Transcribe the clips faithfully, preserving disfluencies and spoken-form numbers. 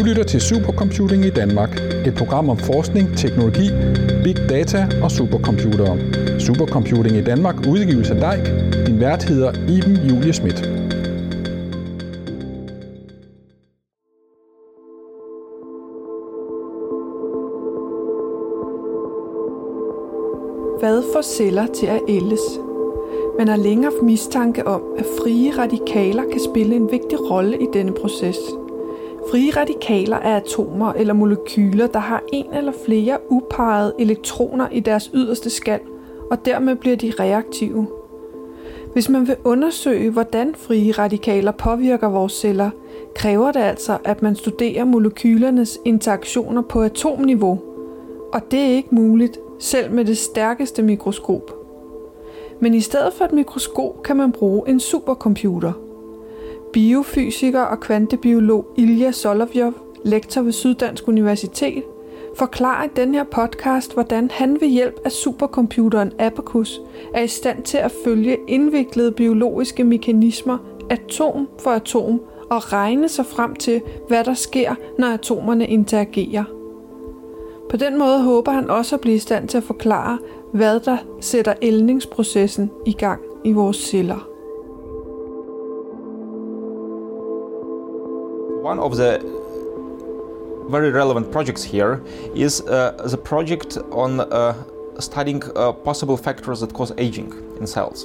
lytter til Supercomputing i Danmark, et program om forskning, teknologi, big data og supercomputere. Supercomputing i Danmark udgives af D E I C. Din vært hedder Iben Julie Schmidt. Hvad får celler til at ældes? Man har længe haft mistanke om, at frie radikaler kan spille en vigtig rolle i denne proces. Frie radikaler er atomer eller molekyler, der har en eller flere uparrede elektroner i deres yderste skal, og dermed bliver de reaktive. Hvis man vil undersøge, hvordan frie radikaler påvirker vores celler, kræver det altså, at man studerer molekylernes interaktioner på atomniveau. Og det er ikke muligt, selv med det stærkeste mikroskop. Men i stedet for et mikroskop kan man bruge en supercomputer. Biofysiker og kvantebiolog Ilja Solovjov, lektor ved Syddansk Universitet, forklarer i den her podcast, hvordan han ved hjælp af supercomputeren Abacus er i stand til at følge indviklede biologiske mekanismer atom for atom og regne sig frem til, hvad der sker, når atomerne interagerer. På den måde håber han også at blive i stand til at forklare, hvad der sætter ældningsprocessen i gang i vores celler. One of the very relevant projects here is uh, the project on uh, studying uh, possible factors that cause aging in cells.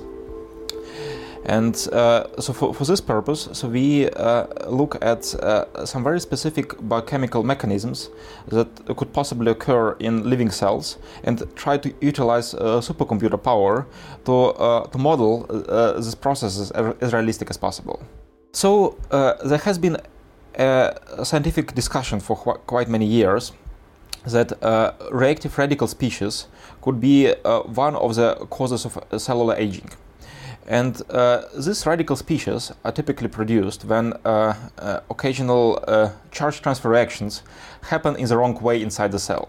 And uh, so for, for this purpose, so we uh, look at uh, some very specific biochemical mechanisms that could possibly occur in living cells and try to utilize uh, supercomputer power to, uh, to model uh, these processes as realistic as possible. So uh, there has been a scientific discussion for qu- quite many years that uh, reactive radical species could be uh, one of the causes of cellular aging. And uh, these radical species are typically produced when uh, uh, occasional uh, charge transfer reactions happen in the wrong way inside the cell.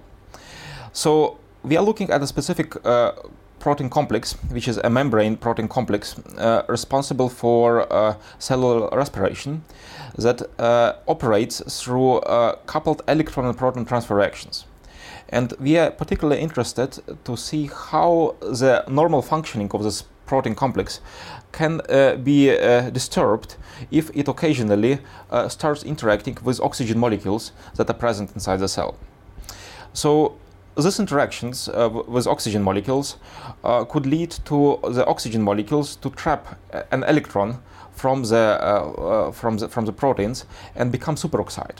So we are looking at a specific uh, protein complex, which is a membrane protein complex uh, responsible for uh, cellular respiration that uh, operates through uh, coupled electron and proton transfer reactions. And we are particularly interested to see how the normal functioning of this protein complex can uh, be uh, disturbed if it occasionally uh, starts interacting with oxygen molecules that are present inside the cell. So these interactions uh, w- with oxygen molecules uh, could lead to the oxygen molecules to trap an electron from the, uh, uh, from the, from the proteins and become superoxide.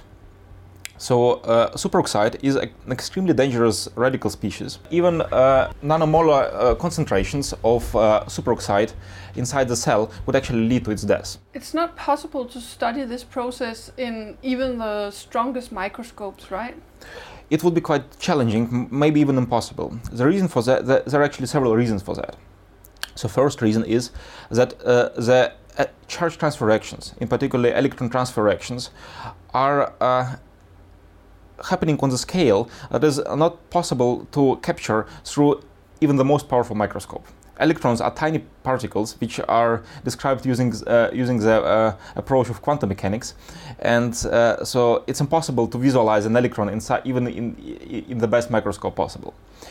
So uh, superoxide is a, an extremely dangerous radical species. Even uh, nanomolar uh, concentrations of uh, superoxide inside the cell would actually lead to its death. It's not possible to study this process in even the strongest microscopes, right? It would be quite challenging, m- maybe even impossible. The reason for that, the, there are actually several reasons for that. So first reason is that uh, the uh, charge transfer reactions, in particular electron transfer reactions, are uh, happening on the scale that is not possible to capture through even the most powerful microscope. Electrons are tiny particles which are described using uh, using the uh, approach of quantum mechanics, and uh, so it's impossible to visualize an electron inside even in in the best microscope possible.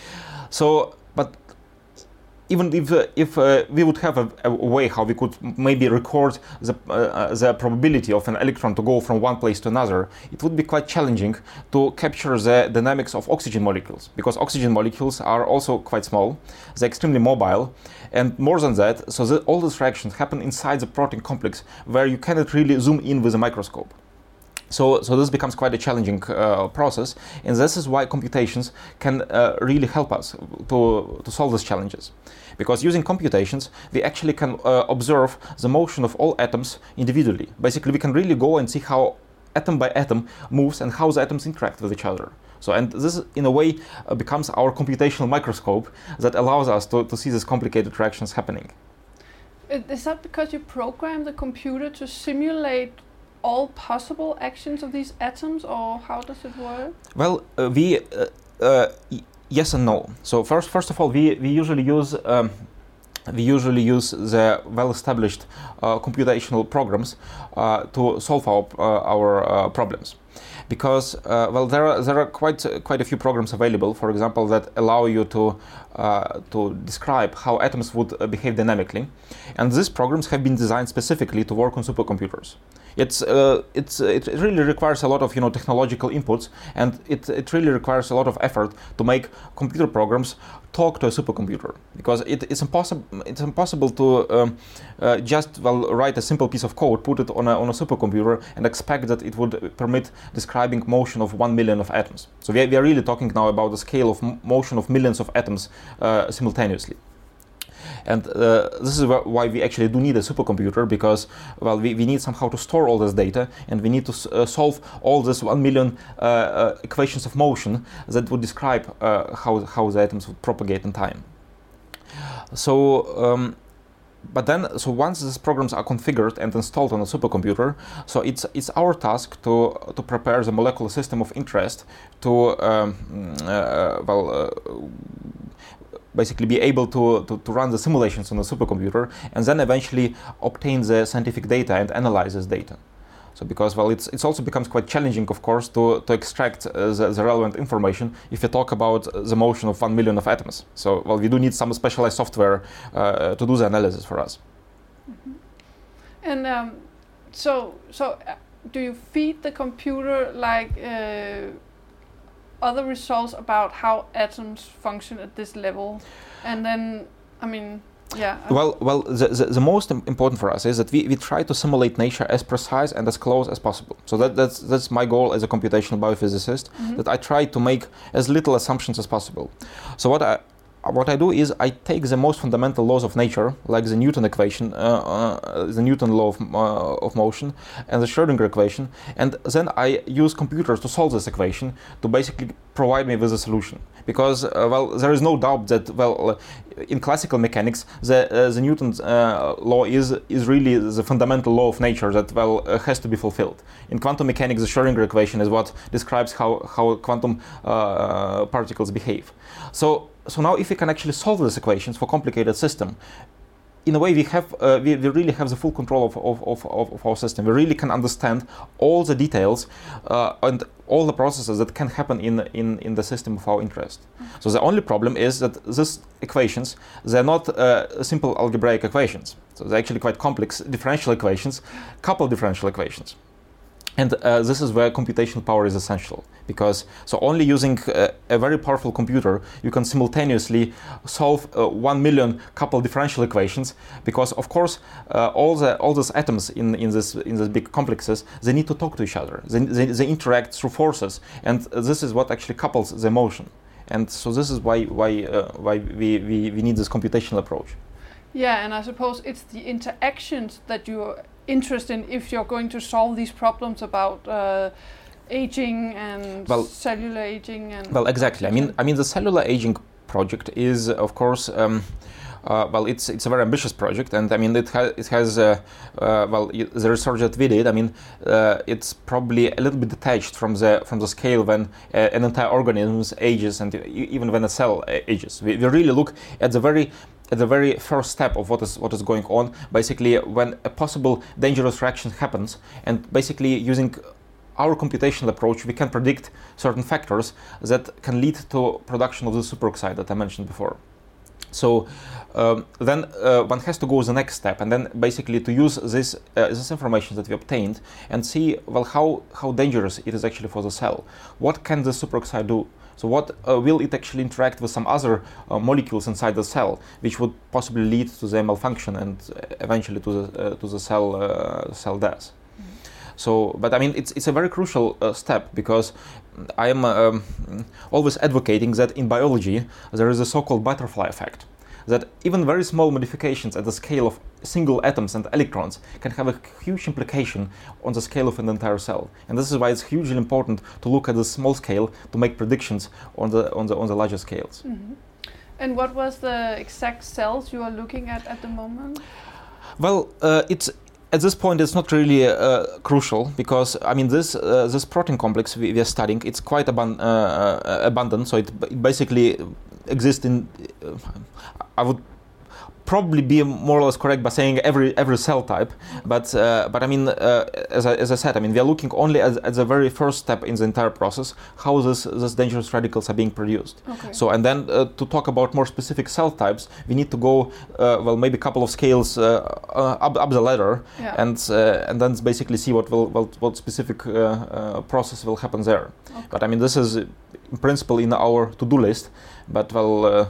So, but even if uh, if uh, we would have a, a way how we could maybe record the uh, the probability of an electron to go from one place to another, it would be quite challenging to capture the dynamics of oxygen molecules, because oxygen molecules are also quite small, they're extremely mobile, and more than that, so the, all these reactions happen inside the protein complex where you cannot really zoom in with a microscope. So, so this becomes quite a challenging uh, process, and this is why computations can uh, really help us to, to solve these challenges. Because using computations, we actually can uh, observe the motion of all atoms individually. Basically, we can really go and see how atom by atom moves and how the atoms interact with each other. So, and this, in a way, uh, becomes our computational microscope that allows us to, to see these complicated reactions happening. Is that because you program the computer to simulate all possible actions of these atoms, or how does it work? Well, uh, we uh, uh, y- yes and no. So first, first of all, we we usually use um, we usually use the well-established uh, computational programs uh, to solve our uh, our uh, problems. because uh, well, there are there are quite uh, quite a few programs available, for example, that allow you to uh, to describe how atoms would uh, behave dynamically, and these programs have been designed specifically to work on supercomputers. It's uh, it's it really requires a lot of you know technological inputs, and it it really requires a lot of effort to make computer programs talk to a supercomputer, because it, it's impossible it's impossible to um, uh, just well write a simple piece of code, put it on a on a supercomputer, and expect that it would permit describing motion of one million of atoms. So we are, we are really talking now about the scale of m- motion of millions of atoms uh, simultaneously. And uh, this is wh- why we actually do need a supercomputer, because well, we, we need somehow to store all this data, and we need to s- uh, solve all this one million uh, uh, equations of motion that would describe uh, how how the atoms would propagate in time. So. Um, But then, so once these programs are configured and installed on a supercomputer, so it's it's our task to to prepare the molecular system of interest to um, uh, well uh, basically be able to, to to run the simulations on the supercomputer, and then eventually obtain the scientific data and analyze this data. So because well, it's it's also becomes quite challenging, of course, to to extract uh, the, the relevant information if you talk about the motion of one million of atoms. So well, we do need some specialized software uh, to do the analysis for us. Mm-hmm. And um, so so uh, do you feed the computer like uh, other results about how atoms function at this level, and then I mean. Yeah. Well, well, the, the, the most important for us is that we, we try to simulate nature as precise and as close as possible. So that, that's that's my goal as a computational biophysicist, mm-hmm. that I try to make as little assumptions as possible. So what I what I do is I take the most fundamental laws of nature, like the Newton equation, uh, uh, the Newton law of, uh, of motion, and the Schrödinger equation, and then I use computers to solve this equation to basically provide me with a solution. Because uh, well, there is no doubt that well, uh, in classical mechanics, the uh, the Newton's uh, law is is really the fundamental law of nature that well uh, has to be fulfilled. In quantum mechanics, the Schrödinger equation is what describes how how quantum uh, particles behave. So. So now, if we can actually solve these equations for complicated system, in a way we have uh, we, we really have the full control of, of, of, of our system. We really can understand all the details uh, and all the processes that can happen in, in, in the system of our interest. Mm-hmm. So the only problem is that these equations, they're not uh, simple algebraic equations. So they're actually quite complex differential equations, coupled differential equations. And uh, this is where computational power is essential, because so only using uh, a very powerful computer you can simultaneously solve uh, one million coupled differential equations, because of course uh, all the all these atoms in in this in these big complexes, they need to talk to each other. They, they, they interact through forces, and this is what actually couples the motion. And so this is why why uh, why we, we we need this computational approach. Yeah, and I suppose it's the interactions that you're interested in if you're going to solve these problems about uh, aging and well, cellular aging and. Well, exactly. I mean, I mean, the cellular aging project is, of course, um, uh, well, it's it's a very ambitious project, and I mean, it has it has uh, uh, well, the research that we did. I mean, uh, it's probably a little bit detached from the from the scale when uh, an entire organism ages, and even when a cell ages. We, we really look at the very at the very first step of what is what is going on, basically when a possible dangerous reaction happens, and basically using our computational approach we can predict certain factors that can lead to production of the superoxide that I mentioned before. So um, then uh, one has to go the next step, and then basically to use this uh, this information that we obtained and see well how how dangerous it is actually for the cell. What can the superoxide do? So what uh, will it actually interact with some other uh, molecules inside the cell, which would possibly lead to the malfunction and eventually to the uh, to the cell uh, cell death. Mm-hmm. So, but I mean, it's it's a very crucial uh, step, because I am um, always advocating that in biology there is a so-called butterfly effect, that even very small modifications at the scale of single atoms and electrons can have a huge implication on the scale of an entire cell. And this is why it's hugely important to look at the small scale to make predictions on the on the on the larger scales. Mm-hmm. And what was the exact cells you are looking at at the moment? Well, uh, it's at this point it's not really uh, crucial, because I mean this uh, this protein complex we, we are studying, it's quite abun- uh, abundant, so it, b- it basically exists in uh, I would probably be more or less correct by saying every every cell type, but uh, but I mean, uh, as, I, as I said, I mean, we are looking only at, at the very first step in the entire process, how this these dangerous radicals are being produced. Okay. So, and then uh, to talk about more specific cell types, we need to go, uh, well, maybe a couple of scales uh, uh, up, up the ladder, Yeah. and uh, and then basically see what will what, what specific uh, uh, process will happen there. Okay. But I mean, this is in principle in our to-do list, but well, uh,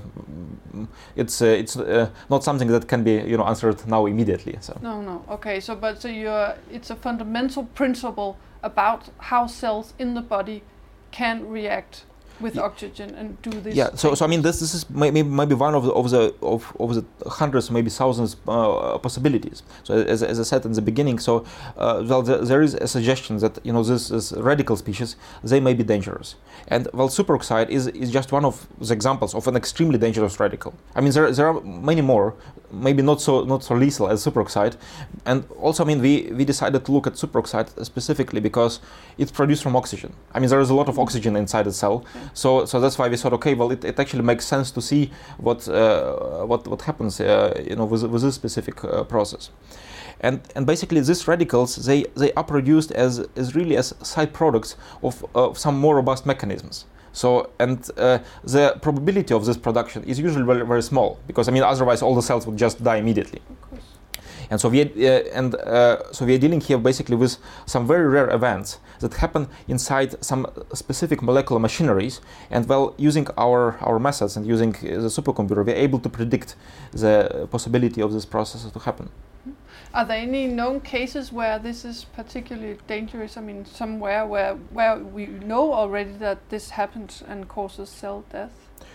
it's uh, it's uh, not something that can be, you know, answered now immediately. So No, no. Okay, so but so you're it's a fundamental principle about how cells in the body can react with Yeah. oxygen and do this. yeah, so so I mean, this this is maybe maybe one of the of the of, of the hundreds, maybe thousands uh, possibilities. So as, as I said in the beginning, so uh, well, the, there is a suggestion that, you know, this, this radical species, they may be dangerous, and well, superoxide is is just one of the examples of an extremely dangerous radical. I mean, there there are many more, maybe not so not so lethal as superoxide, and also I mean, we we decided to look at superoxide specifically because it's produced from oxygen. I mean, there is a lot of oxygen inside the cell. So, so that's why we thought, okay, well, it, it actually makes sense to see what uh, what what happens, uh, you know, with, with this specific uh, process, and and basically these radicals, they they are produced as as really as side products of uh, some more robust mechanisms. So, and uh, the probability of this production is usually very very small, because I mean, otherwise all the cells would just die immediately. Of course. And so we uh, and uh, so we are dealing here basically with some very rare events that happen inside some specific molecular machineries. And well, using our our methods and using uh, the supercomputer, we are able to predict the possibility of this process to happen. Are there any known cases where this is particularly dangerous? I mean, somewhere where where we know already that this happens and causes cell death?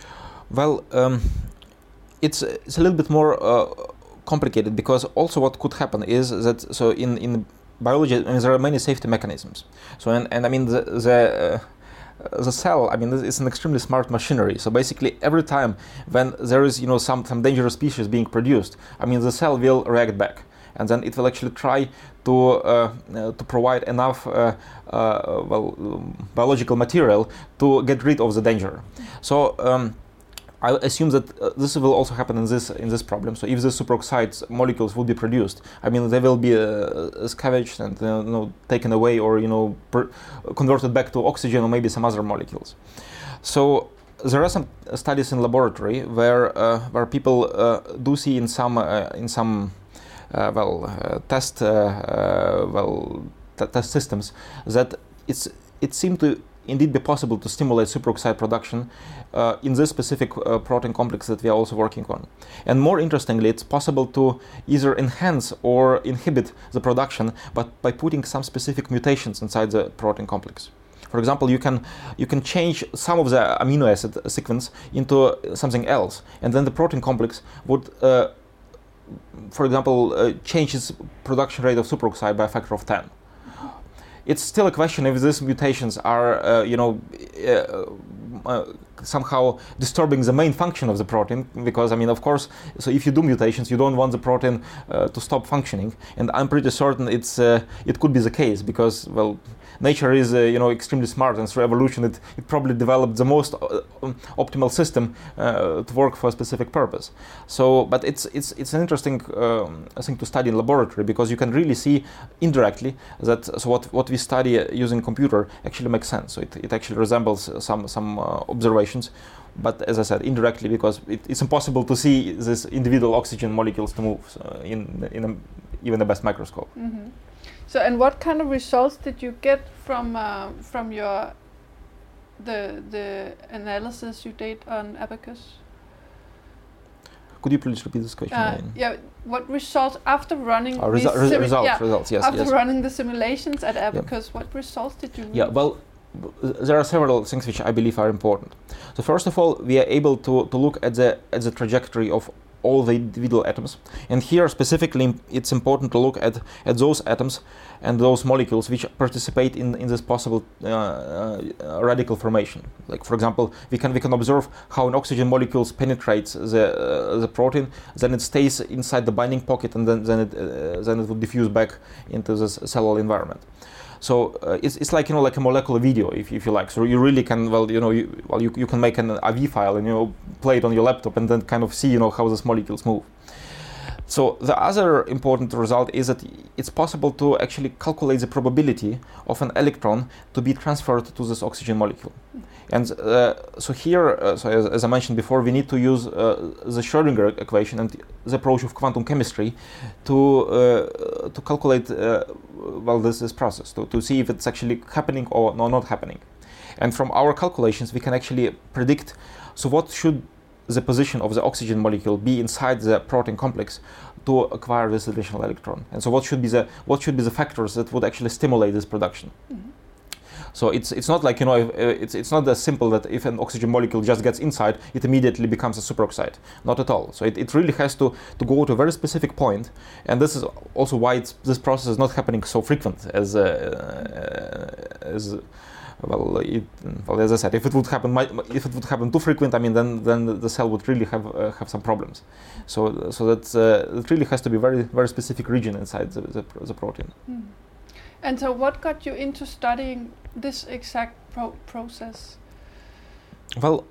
Well, um, it's it's a little bit more uh, complicated, because also what could happen is that, so in in biology, I mean, there are many safety mechanisms. So and, and I mean the the, uh, the cell, I mean, it's an extremely smart machinery. So basically, every time when there is, you know, some some dangerous species being produced, I mean, the cell will react back, and then it will actually try to uh, uh, to provide enough uh, uh, well um, biological material to get rid of the danger. So. Um, I assume that uh, this will also happen in this in this problem. So if the superoxide molecules will be produced, I mean, they will be uh, scavenged and uh, you know, taken away, or, you know, per converted back to oxygen or maybe some other molecules. So there are some studies in laboratory where uh, where people uh, do see in some uh, in some uh, well uh, test uh, uh, well t test systems that it's it seemed to indeed be possible to stimulate superoxide production uh, in this specific uh, protein complex that we are also working on. And more interestingly, it's possible to either enhance or inhibit the production, but by putting some specific mutations inside the protein complex. For example, you can you can change some of the amino acid sequence into something else, and then the protein complex would, uh, for example, uh, change its production rate of superoxide by a factor of ten. It's still a question if these mutations are, uh, you know, uh, uh, somehow disturbing the main function of the protein, because I mean, of course, so if you do mutations, you don't want the protein uh, to stop functioning, and I'm pretty certain it's uh, it could be the case, because, well, nature is uh, you know, extremely smart, and through evolution it, it probably developed the most uh, um, optimal system uh, to work for a specific purpose. So, but it's it's it's an interesting um, thing to study in laboratory, because you can really see indirectly that so what what we study using computer actually makes sense. So it, it actually resembles some some uh, observations, but as I said, indirectly, because it, it's impossible to see these individual oxygen molecules to move so in in a, even the best microscope. Mm-hmm. So, and what kind of results did you get from uh, from your the the analysis you did on Abacus? Could you please repeat this question? Uh, yeah, what results after running? Oh, resu these resu results, yeah, results, yes, after yes. running the simulations at Abacus, yeah. What results did you? Yeah, reach? well, there are several things which I believe are important. So first of all, we are able to to look at the at the trajectory of all the individual atoms, and here specifically it's important to look at at those atoms and those molecules which participate in in this possible uh, uh, radical formation. Like, for example, we can we can observe how an oxygen molecule penetrates the uh, the protein, then it stays inside the binding pocket, and then then it uh, then it will diffuse back into the cellular environment. So uh, it's, it's like, you know, like a molecular video, if, if you like. So you really can, well, you know, you, well, you, you can make an A V file and, you know, play it on your laptop and then kind of see, you know, how these molecules move. So the other important result is that it's possible to actually calculate the probability of an electron to be transferred to this oxygen molecule. And uh, so here, uh, so as, as I mentioned before, we need to use uh, the Schrödinger equation and the approach of quantum chemistry to uh, to calculate uh, well this, this process, to, to see if it's actually happening or no, not happening. And from our calculations, we can actually predict, so what should the position of the oxygen molecule be inside the protein complex to acquire this additional electron. And so what should be the what should be the factors that would actually stimulate this production. Mm-hmm. So it's it's not like, you know, if, uh, it's it's not as simple that if an oxygen molecule just gets inside, it immediately becomes a superoxide. Not at all. So it, it really has to, to go to a very specific point, and this is also why it's, this process is not happening so frequent as uh, uh, as well, it, well. As I said, if it would happen, if it would happen too frequent, I mean, then then the cell would really have uh, have some problems. So so that uh, it really has to be very very specific region inside the the, the protein. Mm. And so, what got you into studying this exact pro- process? Well,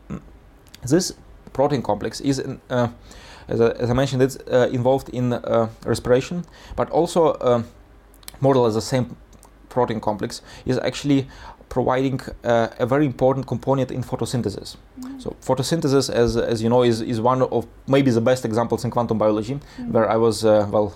this protein complex is, in, uh, as, I, as I mentioned, it's uh, involved in uh, respiration, but also uh, more or less the same protein complex is actually providing uh, a very important component in photosynthesis. Mm. So photosynthesis, as as you know, is is one of maybe the best examples in quantum biology, mm. where I was uh, well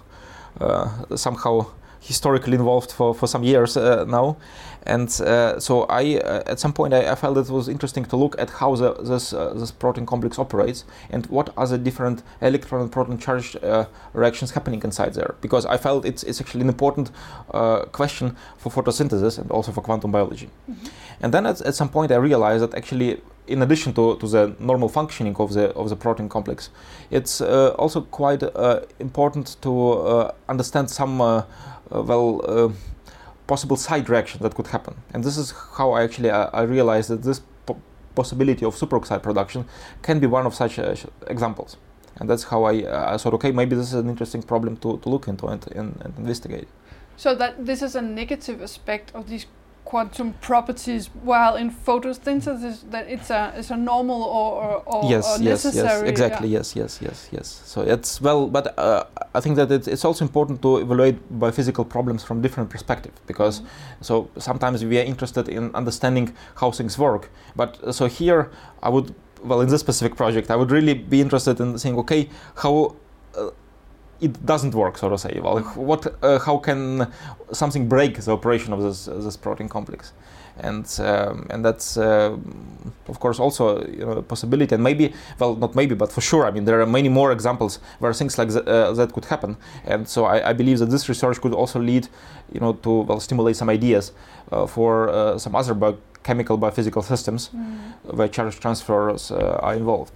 uh, somehow historically involved for, for some years uh, now, and uh, so I uh, at some point I, I felt it was interesting to look at how the, this uh, this protein complex operates and what are the different electron and proton charge uh, reactions happening inside there, because I felt it's it's actually an important uh, question for photosynthesis and also for quantum biology. Mm-hmm. And then at, at some point I realized that actually, in addition to, to the normal functioning of the of the protein complex, it's uh, also quite uh, important to uh, understand some uh, uh, well uh, possible side reactions that could happen. And this is how I actually uh, I realized that this po- possibility of superoxide production can be one of such uh, examples. And that's how I, uh, I thought, okay, maybe this is an interesting problem to, to look into and, and, and investigate. So that this is a negative aspect of these quantum properties, while in photosynthesis that it's a it's a normal or or, or yes, or yes, necessary. Yes, exactly. Yeah. Yes, yes, yes, yes. So it's well, but uh, I think that it's, it's also important to evaluate biophysical problems from different perspectives, because mm-hmm. so sometimes we are interested in understanding how things work. But uh, so here I would, well, in this specific project, I would really be interested in saying, okay, how uh, it doesn't work, so to say. Well, what, uh, how can something break the operation of this uh, this protein complex, and um, and that's uh, of course also, you know, a possibility. And maybe, well, not maybe, but for sure. I mean, there are many more examples where things like th- uh, that could happen. And so I, I believe that this research could also lead, you know, to well stimulate some ideas uh, for uh, some other biochemical biophysical systems mm. where charge transfers uh, are involved.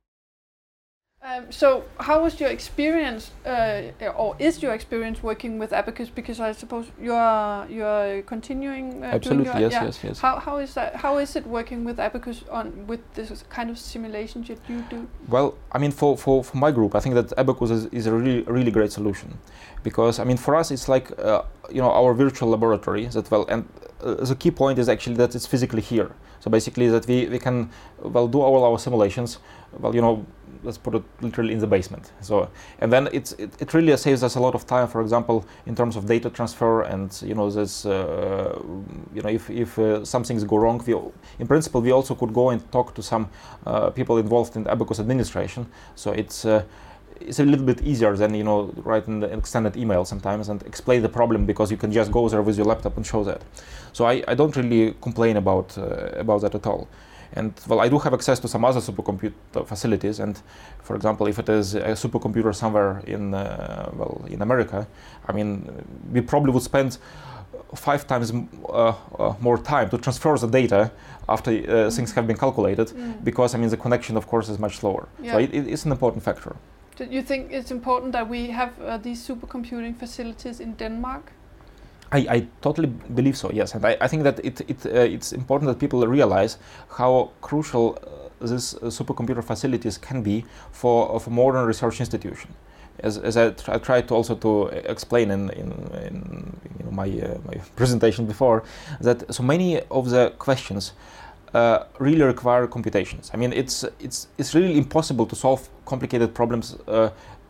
Um, so how was your experience, uh, or is your experience working with Abaqus? Because I suppose you are you are continuing. Uh, Absolutely, doing your, yes, yeah. yes, yes. How how is that? How is it working with Abaqus on with this kind of simulations that you do? Well, I mean, for, for, for my group, I think that Abaqus is, is a really really great solution, because I mean, for us, it's like uh, you know, our virtual laboratory. That well, and uh, the key point is actually that it's physically here. So basically, that we, we can well do all our simulations. Well, you know, let's put it literally in the basement. So, and then it's it, it really saves us a lot of time. For example, in terms of data transfer, and you know, this uh, you know, if if uh, some things go wrong, we in principle we also could go and talk to some uh, people involved in the Abaqus administration. So it's. Uh, It's a little bit easier than, you know, writing an extended email sometimes and explain the problem, because you can just go there with your laptop and show that. So I, I don't really complain about uh, about that at all. And well, I do have access to some other supercomputer facilities. And for example, if it is a supercomputer somewhere in uh, well in America, I mean, we probably would spend five times m- uh, uh, more time to transfer the data after uh, mm. things have been calculated, mm. because I mean the connection, of course, is much slower. Yeah. So it, it is an important factor. Do you think it's important that we have uh, these supercomputing facilities in Denmark? I, I totally believe so, yes. And I, I think that it, it uh, it's important that people realize how crucial uh, these uh, supercomputer facilities can be for, for modern research institution. As, as I, tr- I tried to also to explain in, in, in you know, my, uh, my presentation before, that so many of the questions Uh, really require computations. I mean, it's it's it's really impossible to solve complicated problems uh,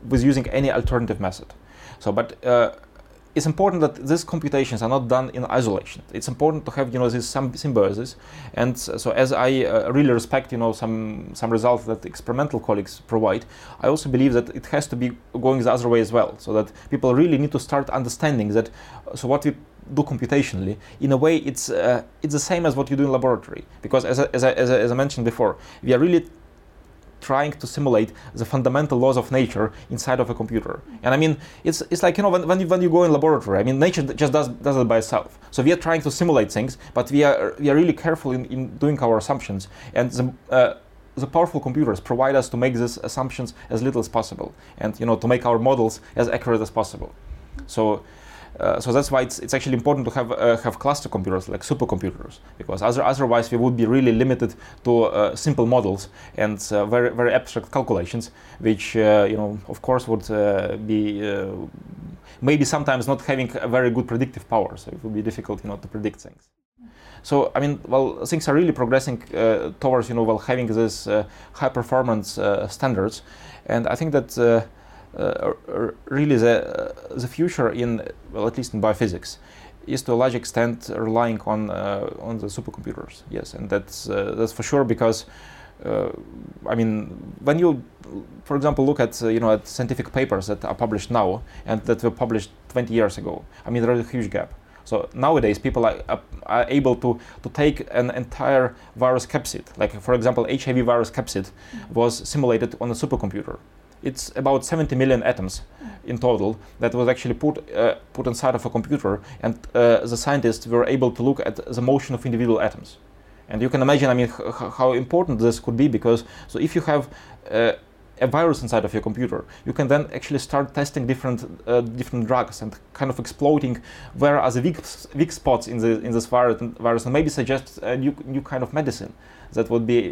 with using any alternative method. So, but uh, it's important that these computations are not done in isolation. It's important to have, you know, this some symbiosis. And so, as I uh, really respect, you know, some some results that experimental colleagues provide, I also believe that it has to be going the other way as well. So that people really need to start understanding that. So what we do computationally, in a way, it's uh, it's the same as what you do in laboratory. Because as I, as I, as I, as I mentioned before, we are really trying to simulate the fundamental laws of nature inside of a computer. And I mean, it's it's like, you know, when, when, you, when you go in laboratory, I mean, nature just does, does it by itself. So we are trying to simulate things, but we are we are really careful in, in doing our assumptions. And the, uh, the powerful computers provide us to make these assumptions as little as possible, and, you know, to make our models as accurate as possible. So. Uh, so that's why it's it's actually important to have uh, have cluster computers like supercomputers, because other, otherwise we would be really limited to uh, simple models and uh, very very abstract calculations, which uh, you know, of course would uh, be uh, maybe sometimes not having a very good predictive power. So it would be difficult, you know, to predict things. So I mean, well, things are really progressing uh, towards, you know, well, having this uh, high performance uh, standards, and I think that. Uh, Uh, really the uh, the future in, well, at least in biophysics, is to a large extent relying on uh, on the supercomputers. Yes, and that's uh, that's for sure, because uh, I mean, when you, for example, look at uh, you know, at scientific papers that are published now and that were published twenty years ago, I mean, there is a huge gap. So nowadays people are, are able to, to take an entire virus capsid, like for example H I V virus capsid was simulated on a supercomputer. It's about seventy million atoms in total that was actually put uh, put inside of a computer, and uh, the scientists were able to look at the motion of individual atoms. And you can imagine, I mean, h- how important this could be, because so if you have uh, a virus inside of your computer, you can then actually start testing different uh, different drugs and kind of exploiting where are the weak, weak spots in the in this virus, virus and maybe suggest a new new kind of medicine that would be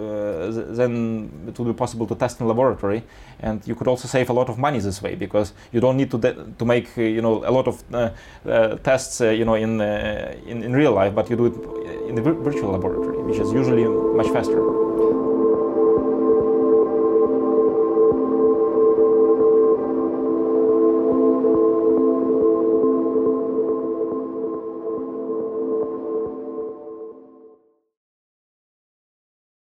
uh, then it would be possible to test in laboratory, and you could also save a lot of money this way, because you don't need to de- to make uh, you know, a lot of uh, uh, tests uh, you know, in, uh, in in real life, but you do it in the vir- virtual laboratory, which is usually much faster.